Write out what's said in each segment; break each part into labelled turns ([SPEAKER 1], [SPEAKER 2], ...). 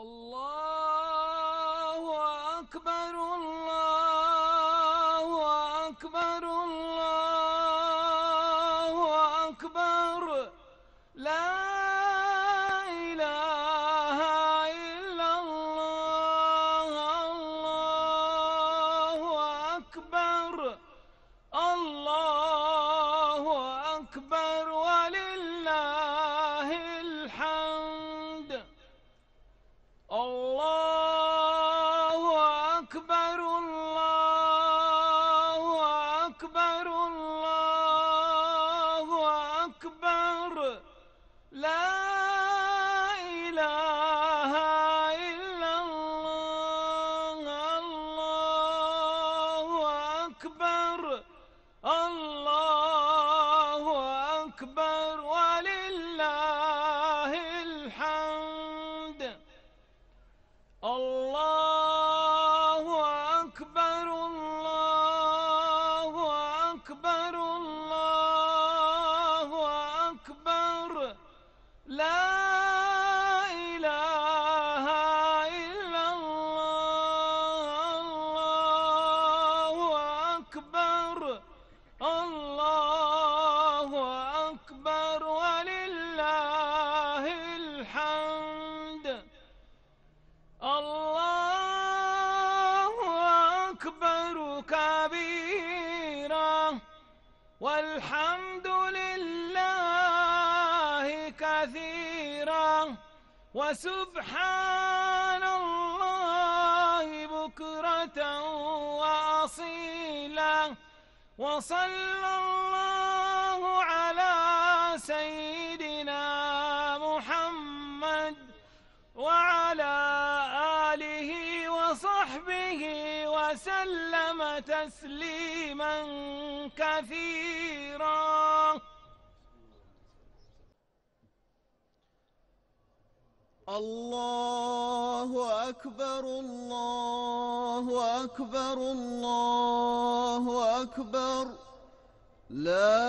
[SPEAKER 1] الله أكبر الله أكبر الله أكبر لا إله إلا الله الله أكبر الله أكبر ولله الحمد الله أكبر الله أكبر الله أكبر لا إله إلا الله الله أكبر الله أكبر ولله الحمد الله أكبر الله أكبر الله أكبر لا إله إلا الله الله أكبر الله أكبر ولله الحمد الله أكبر كبيرا والحمد لله كثيرا وسبحان الله بكرة وأصيلا وصلى الله على سيدنا محمد وعلى آله وصحبه وسلم تسليما كثيرا.
[SPEAKER 2] الله أكبر الله أكبر الله أكبر لا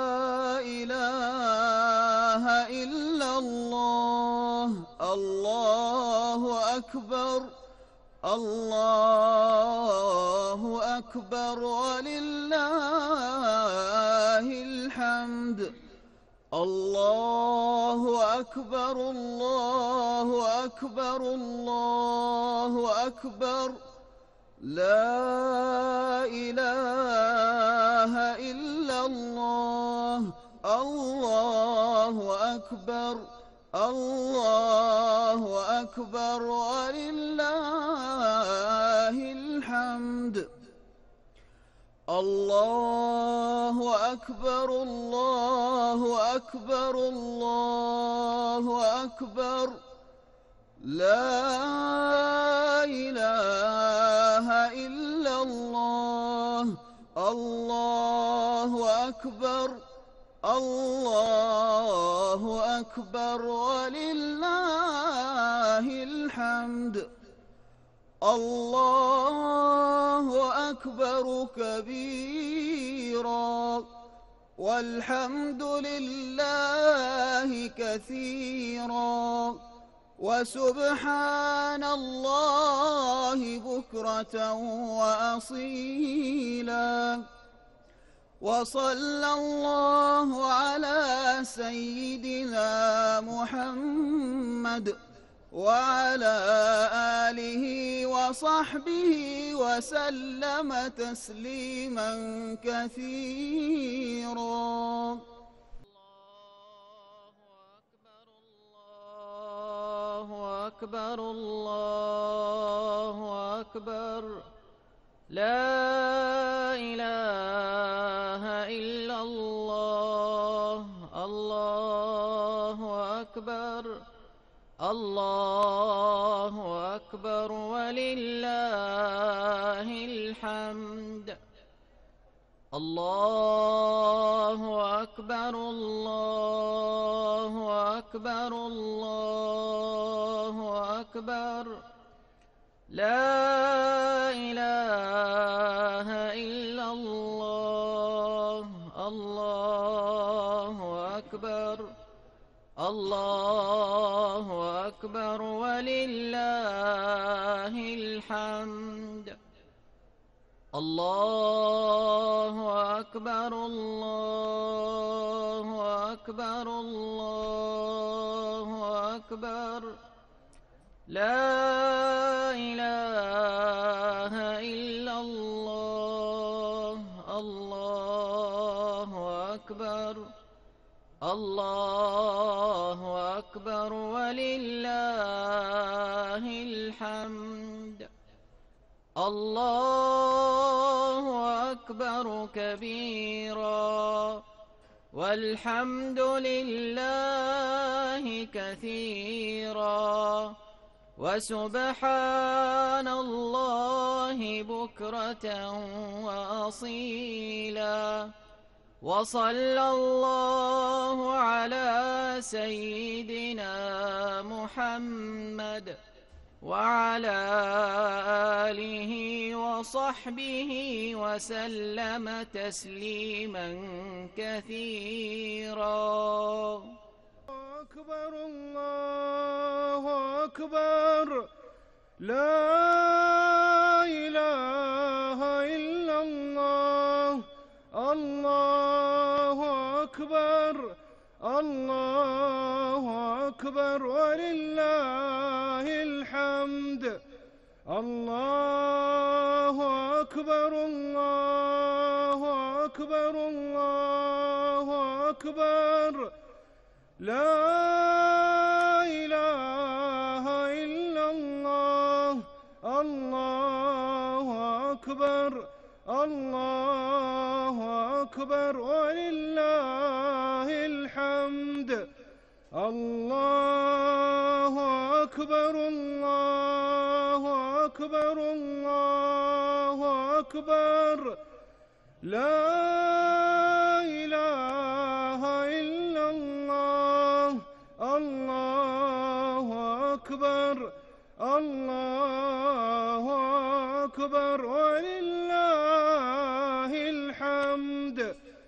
[SPEAKER 2] إله إلا الله الله أكبر الله أكبر ولله الحمد الله أكبر الله أكبر الله أكبر لا إله إلا الله الله أكبر الله أكبر ولله الحمد الله أكبر الله أكبر الله أكبر لا إله إلا الله الله أكبر الله أكبر ولله الحمد الله أكبر كبيرا والحمد لله كثيرا وسبحان الله بكرة وأصيلا وصلى الله على سيدنا محمد وعلى آله وصحبه وسلم تسليما كثيرا. الله أكبر الله أكبر لا إله إلا الله الله أكبر الله أكبر ولله الحمد الله أكبر الله أكبر الله أكبر لا إله إلا الله الله أكبر الله أكبر أكبر ولله الحمد. الله أكبر الله أكبر الله أكبر. لا إله إلا الله. الله أكبر الله أكبر ولله الحمد. الله أكبر كبيرا والحمد لله كثيرا وسبحان الله بكرة وأصيلا. وصلى الله على سيدنا محمد وعلى آله وصحبه وسلم تسليما كثيرا.
[SPEAKER 1] أكبر الله أكبر لا إله إلا الله. الله أكبر الله أكبر ولله الحمد. الله أكبر الله أكبر الله أكبر لا إله إلا الله. الله أكبر الله أكبر ولله الحمد. الله أكبر الله أكبر الله أكبر لا إله إلا الله. الله أكبر الله أكبر ولله الحمد.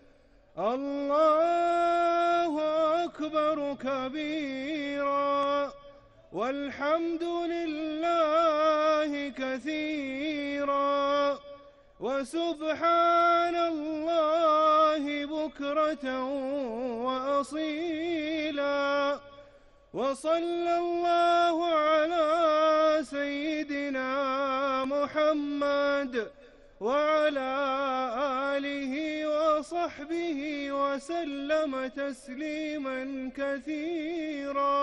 [SPEAKER 1] الله أكبر كبيرا والحمد لله كثيرا وسبحان الله بكرة وأصيلا. وصلى الله على سيدنا محمد وعلى آله وصحبه وسلم تسليما كثيرا.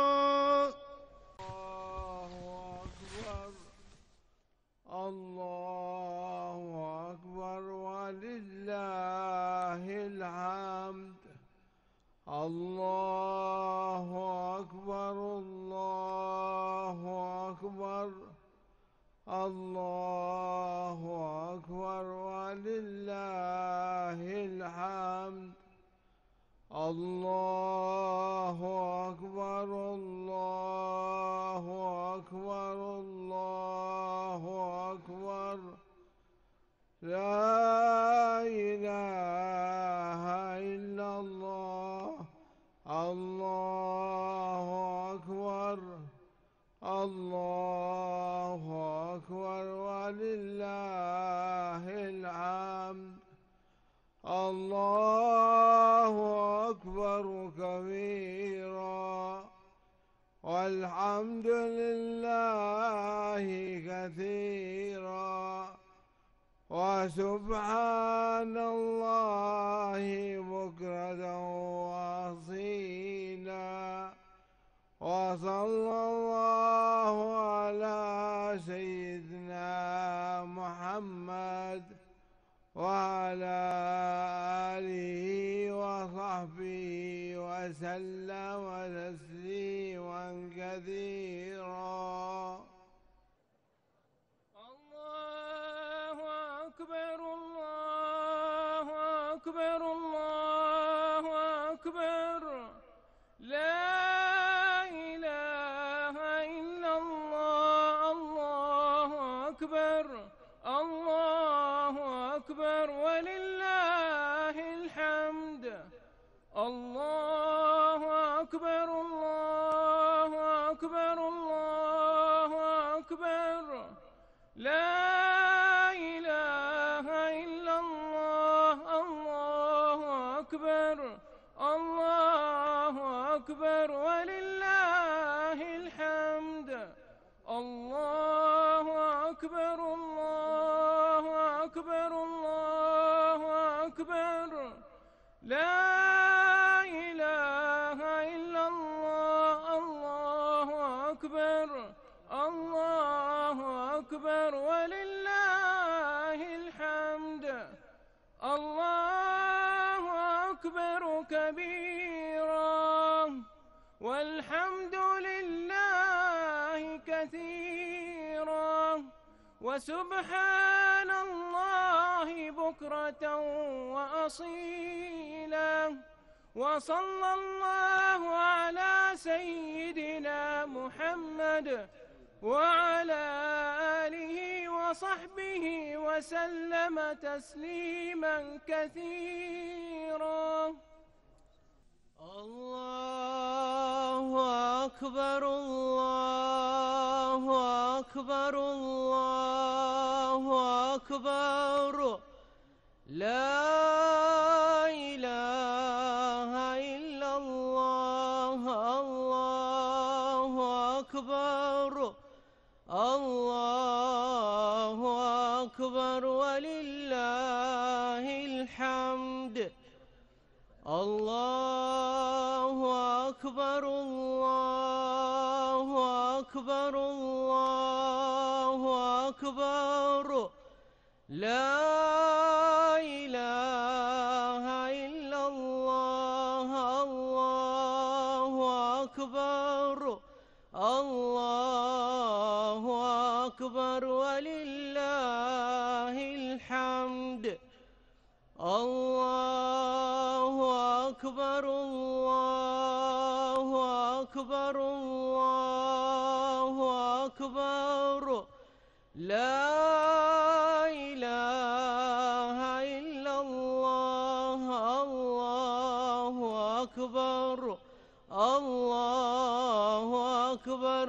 [SPEAKER 1] الله أكبر ولله الحمد. الله أكبر الله أكبر الله أكبر ولله الحمد. الله أكبر الله أكبر الله أكبر لا إله إلا الله. الله أكبر الله أكبر ولله الحمد. الله أكبر كبيرا والحمد لله كثيرا وسبحان الله بكرة وأصيلا. وصلى الله على سيدنا محمد وعلى آله وصحبه وسلم تسليما كثيرا.
[SPEAKER 3] الله أكبر الله أكبر الله أكبر لا إله إلا الله. الله أكبر الله أكبر ولله الحمد. الله أكبر الله أكبر الله لا إله إلا الله. الله أكبر. الله أكبر ولله الحمد. الله أكبر. الله أكبر. الله أكبر. لا إله إلا الله. الله أكبر. الله أكبر ولله الحمد. الله أكبر كبيرا والحمد لله كثيرا وسبحان الله بكرة وأصيلا. وصلى الله على سيدنا محمد وعلى آله وصحبه وسلم تسليما كثيرا.
[SPEAKER 1] الله أكبر. الله أكبر. الله أكبر. لا إله إلا الله. الله أكبر. الله أكبر ولله الحمد. الله أكبر. الله أكبر. الله أكبر. لا إله إلا الله. الله أكبر. الله أكبر ولله الحمد. الله أكبر. الله أكبر. الله أكبر. لا إله إلا الله. الله أكبر. الله أكبر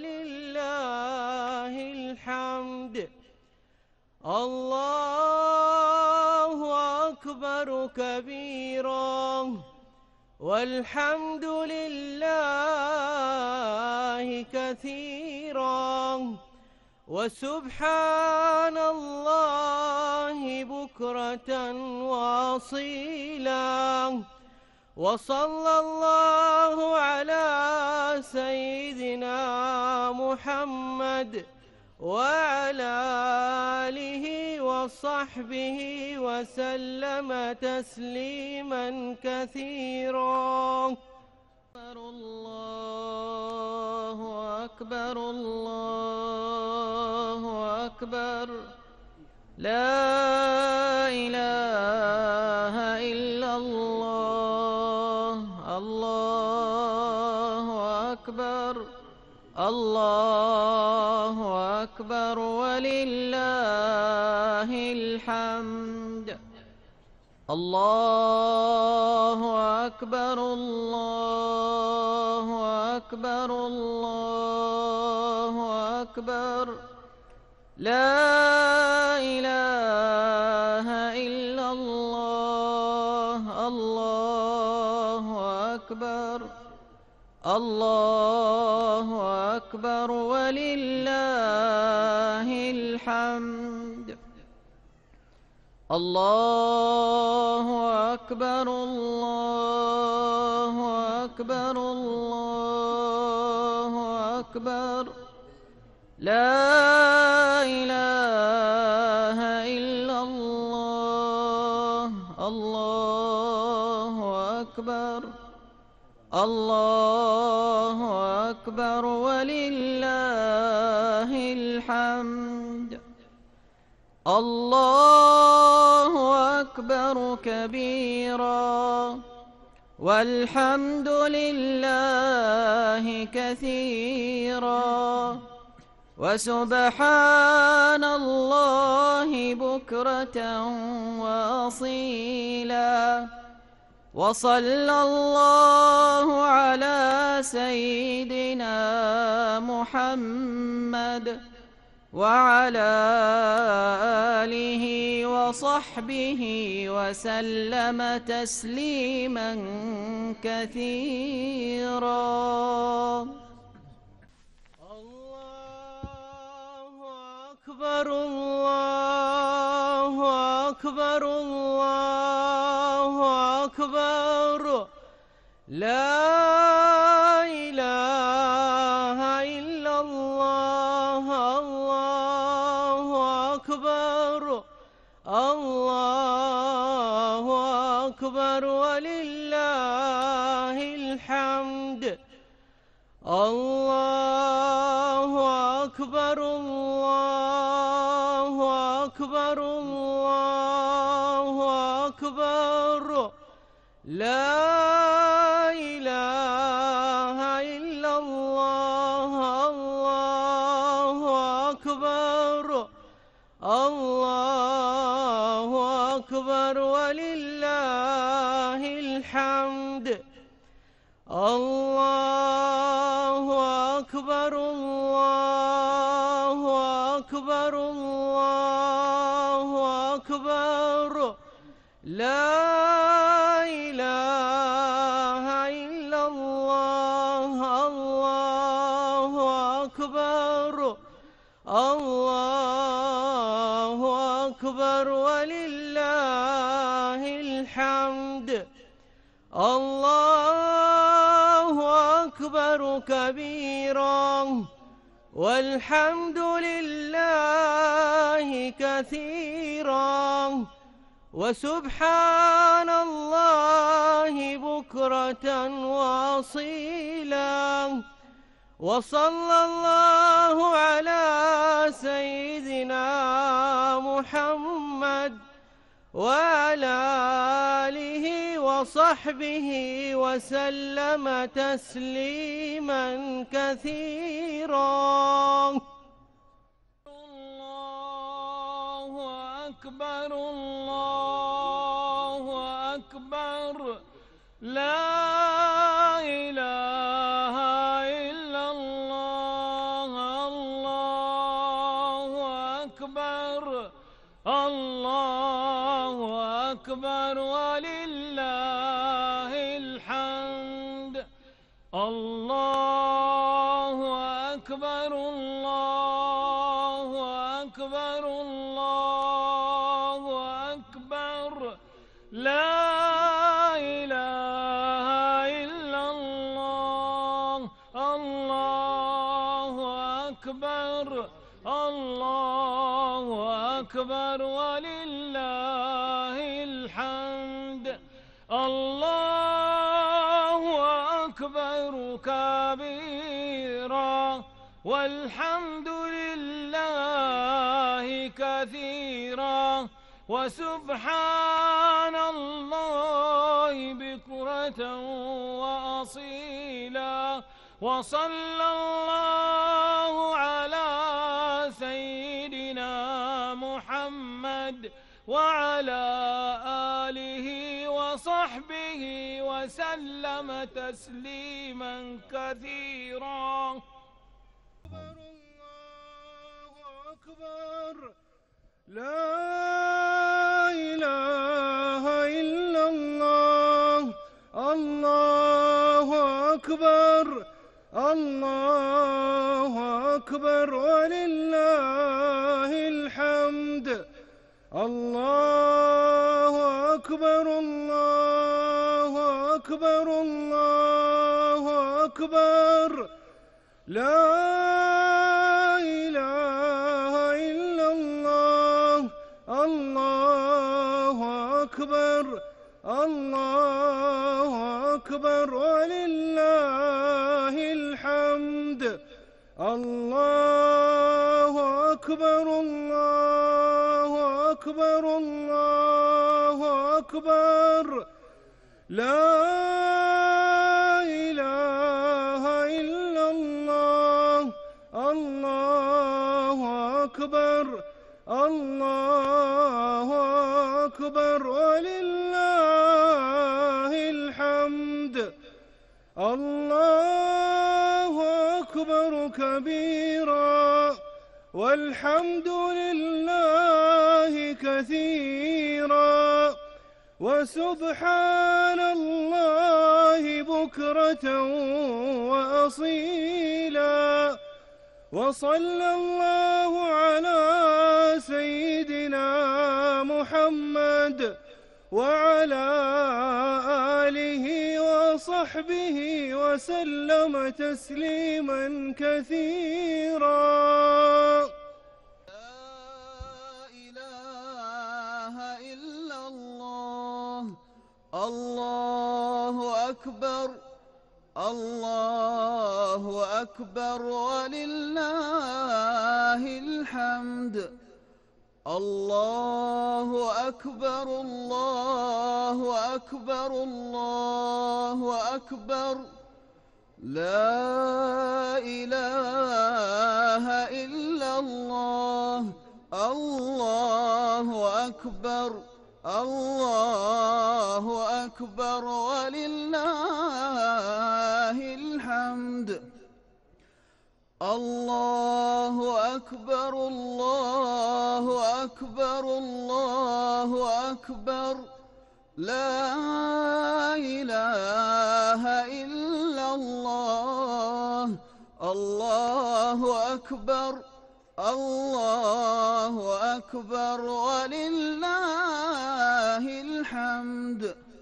[SPEAKER 1] ولله الحمد. الله أكبر كبيرا والحمد لله كثيرا وسبحان الله بكرة وأصيلا. وصلى الله على سيدنا محمد وعلى آله وصحبه وسلم تسليما كثيرا. الله أكبر. الله أكبر. لا إله إلا الله. الله أكبر. الله أكبر ولله الحمد. الله أكبر. الله أكبر. الله أكبر. لا إله إلا الله. الله أكبر. الله أكبر ولله الحمد. الله أكبر. الله أكبر. الله أكبر. لا إله إلا الله. الله أكبر. الله أكبر ولله الحمد. الله أكبر كبيرا والحمد لله كثيرا وسبحان الله بكرة وأصيلا. وصلى الله على سيدنا محمد وعلى آله وصحبه وسلم تسليما كثيرا.
[SPEAKER 3] الله أكبر الله أكبر الله أكبر لا إله إلا الله الله أكبر الله أكبر ولله الحمد. الله أكبر الله أكبر الله أكبر لا إله إلا الله الله أكبر الله أكبر ولله الحمد. الله أكبر الله أكبر الله أكبر لا إله إلا الله الله أكبر الله أكبر ولله الحمد. الله أكبر كبيرا والحمد لله كثيرا وسبحان الله بكرة وأصيلا. وصلى الله على سيدنا محمد وعلى آله وصحبه وسلم تسليما كثيرا. الله أكبر الله أكبر لا إله إلا الله الله أكبر الله أكبر ولله الحمد. الله أكبر الله أكبر الله أكبر لا إله إلا الله الله أكبر الله أكبر ولله الحمد. الله أكبر كبيرا والحمد لله كثيرا وسبحان الله بكرة وأصيلا. وصلى الله على سيدنا محمد وعلى آله وصحبه وسلم تسليما كثيرا. الله أكبر لا إله إلا الله الله أكبر الله أكبر ولله الحمد. الله أكبر الله أكبر الله أكبر لا إله إلا الله الله أكبر الله أكبر ولله الحمد. الله أكبر الله أكبر الله أكبر لا إله إلا الله الله أكبر الله أكبر ولله الحمد. الله أكبر كبيرا والحمد لله كثيرا وسبحان الله بكرة وأصيلا وصلى الله على سيدنا محمد وعلى آله وصحبه وسلم تسليما كثيرا.
[SPEAKER 2] الله أكبر الله أكبر ولله الحمد. الله أكبر الله أكبر الله أكبر لا إله إلا الله. الله أكبر الله أكبر ولله الحمد. الله أكبر الله أكبر الله أكبر لا إله إلا الله. الله أكبر الله أكبر ولله الحمد.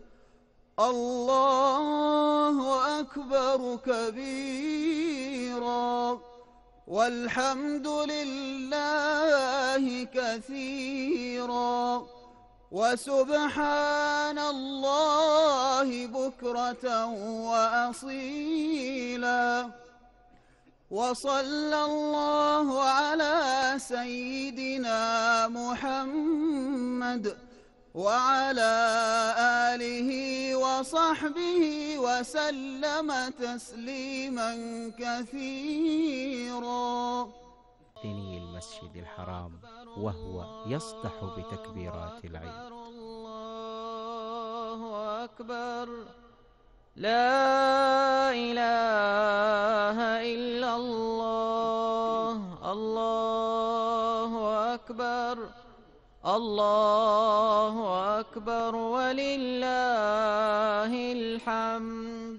[SPEAKER 2] الله أكبر كبيرا والحمد لله كثيرا وسبحان الله بكرة وأصيلا وصلى الله على سيدنا محمد وعلى آله وصحبه وسلم تسليما كثيرا.
[SPEAKER 4] المسجد الحرام وهو يصدح بتكبيرات العيد.
[SPEAKER 1] الله أكبر لا إله إلا الله. الله أكبر الله أكبر ولله الحمد.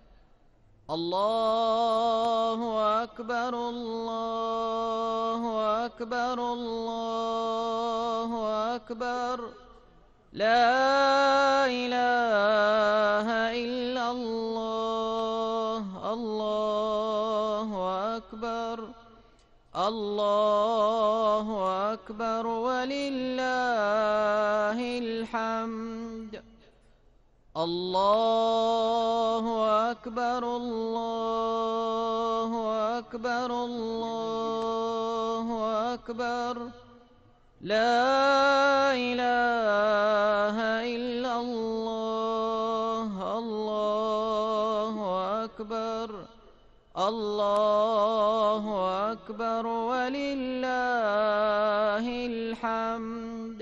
[SPEAKER 1] الله أكبر الله أكبر الله أكبر لا إله إلا الله. الله أكبر الله أكبر ولله الحمد. الله أكبر الله أكبر الله أكبر لا إله إلا الله. الله أكبر الله أكبر ولله الحمد.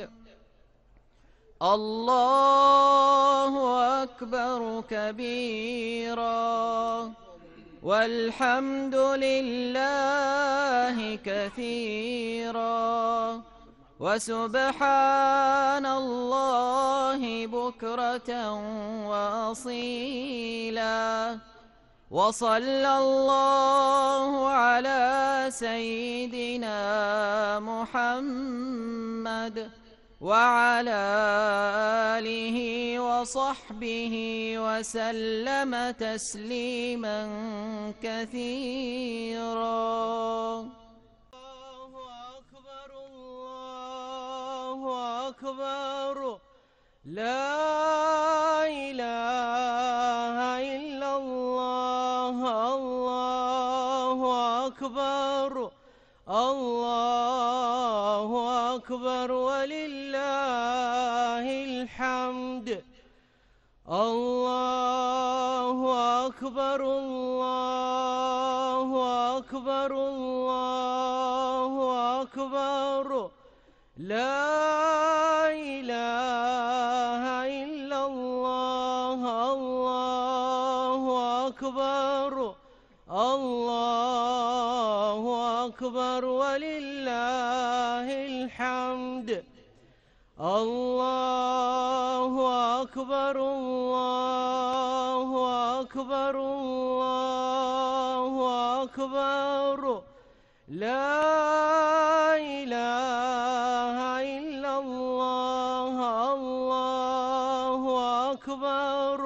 [SPEAKER 1] الله أكبر كبيرا والحمد لله كثيرا وسبحان الله بكرة وأصيلا وصلى الله على سيدنا محمد وعلى آله وصحبه وسلم تسليما كثيرا. الله أكبر الله أكبر لا إله إلا الله. الله أكبر الله أكبر ولله الحمد. الله أكبر الله أكبر الله أكبر لا إله إلا الله. الله أكبر الله أكبر ولله الحمد. الله أكبر الله أكبر الله أكبر لا إله إلا الله. الله أكبر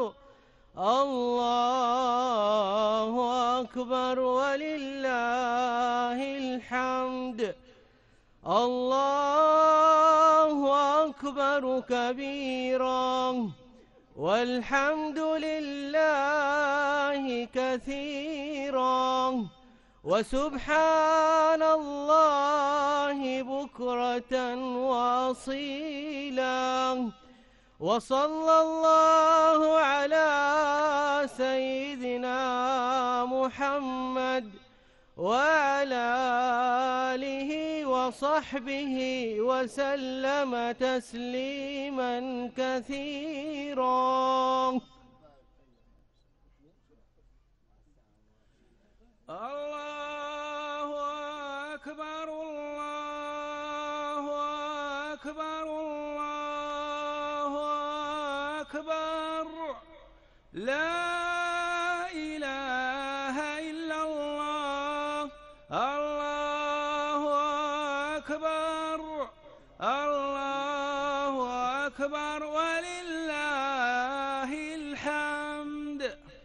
[SPEAKER 1] الله أكبر ولله الحمد. الله أكبر كبيرا والحمد لله كثيرا وسبحان الله بكرة وأصيلا. وصلى الله على سيدنا محمد وعلى آله وصحبه وسلم تسليما كثيرا. الله أكبر الله أكبر الله أكبر لا إله إلا الله. الله أكبر الله أكبر ولله الحمد.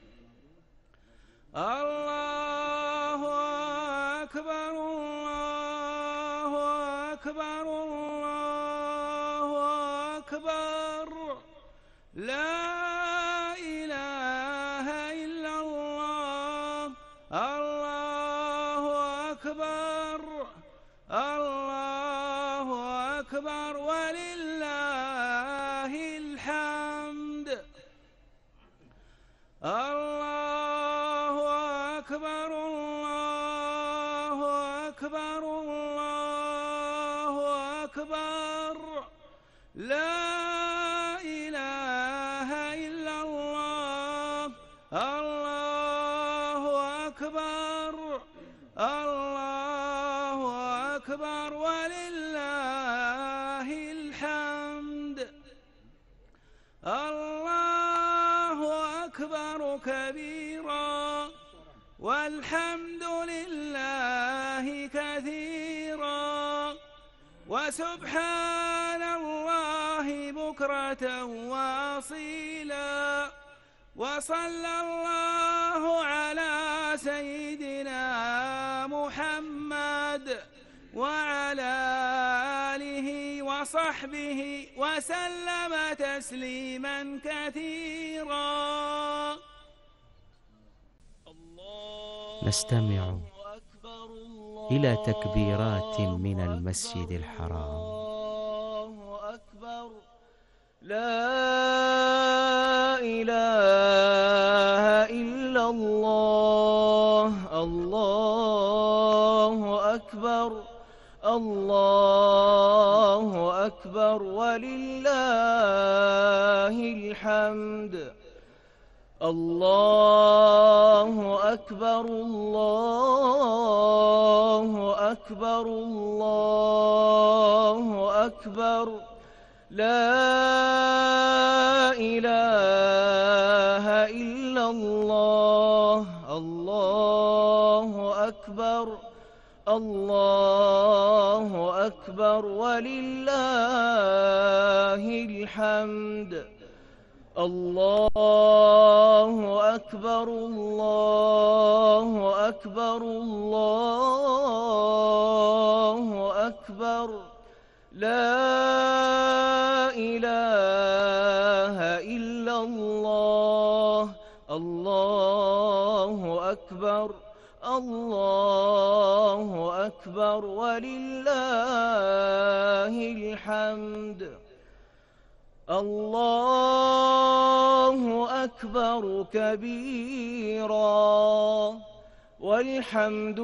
[SPEAKER 1] الله أكبر الله أكبر الله أكبر لا إله إلا الله. الله أكبر الله أكبر ولله الحمد. الله أكبر الله أكبر الله أكبر لا إله إلا الله. الله أكبر الله أكبر ولله الحمد. الله أكبر كبيرا والحمد لله كثيرا وسبحان الله بكرة وأصيلا. وصلى الله على سيدنا محمد وعلى آله وصحبه وسلم تسليما كثيرا.
[SPEAKER 4] نستمع إلى تكبيرات من المسجد الحرام.
[SPEAKER 1] الله أكبر لا إله إلا الله. الله أكبر الله أكبر ولله الحمد. الله أكبر الله أكبر الله أكبر لا إله إلا الله. الله أكبر الله أكبر ولله الحمد. الله أكبر الله أكبر الله أكبر لا إله إلا الله. الله أكبر الله أكبر ولله الحمد. الله أكبر كبيرا والحمد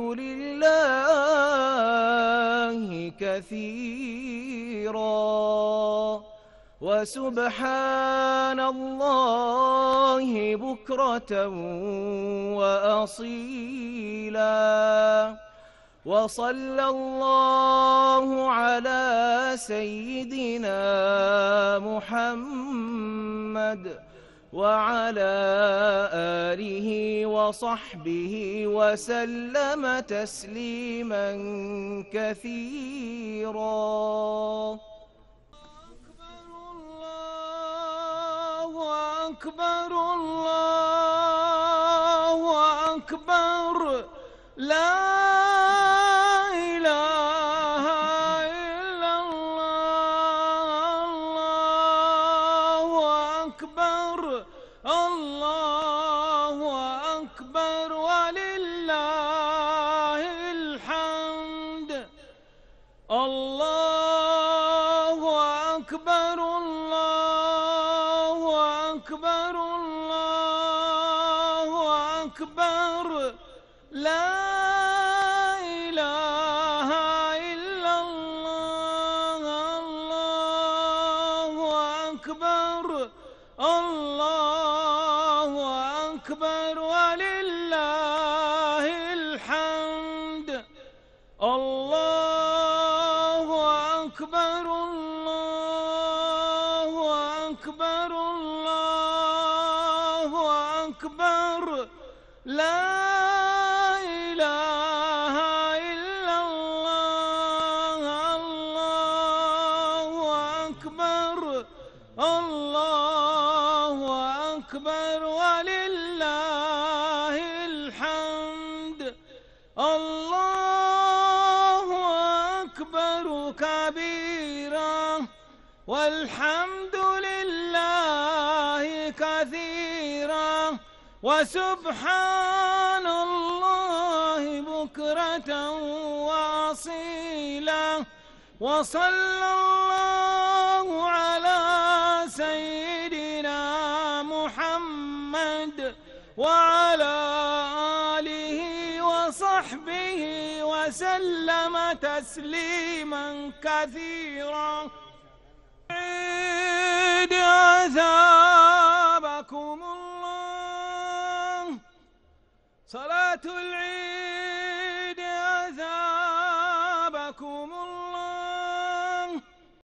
[SPEAKER 1] لله كثيرا وسبحان الله بكرة وأصيلا. وصلى الله على سيدنا محمد وعلى آله وصحبه وسلم تسليما كثيرا. الله أكبر الله أكبر لا إله إلا الله. الله أكبر الله أكبر ولله الحمد. الله أكبر الله أكبر الله أكبر لا إله إلا الله. الله أكبر الله أكبر ولله الحمد. الله أكبر الله أكبر الله أكبر لا إله إلا الله. الله أكبر الله أكبر ولله الحمد. الله أكبر كبيرا والحمد لله كثيرا وسبحان الله بكرة وأصيلا. وصلى الله على سيدنا محمد وعلى آله وصحبه وسلم تسليما كثيرا. عيد أثابكم الله. صلاة العيد.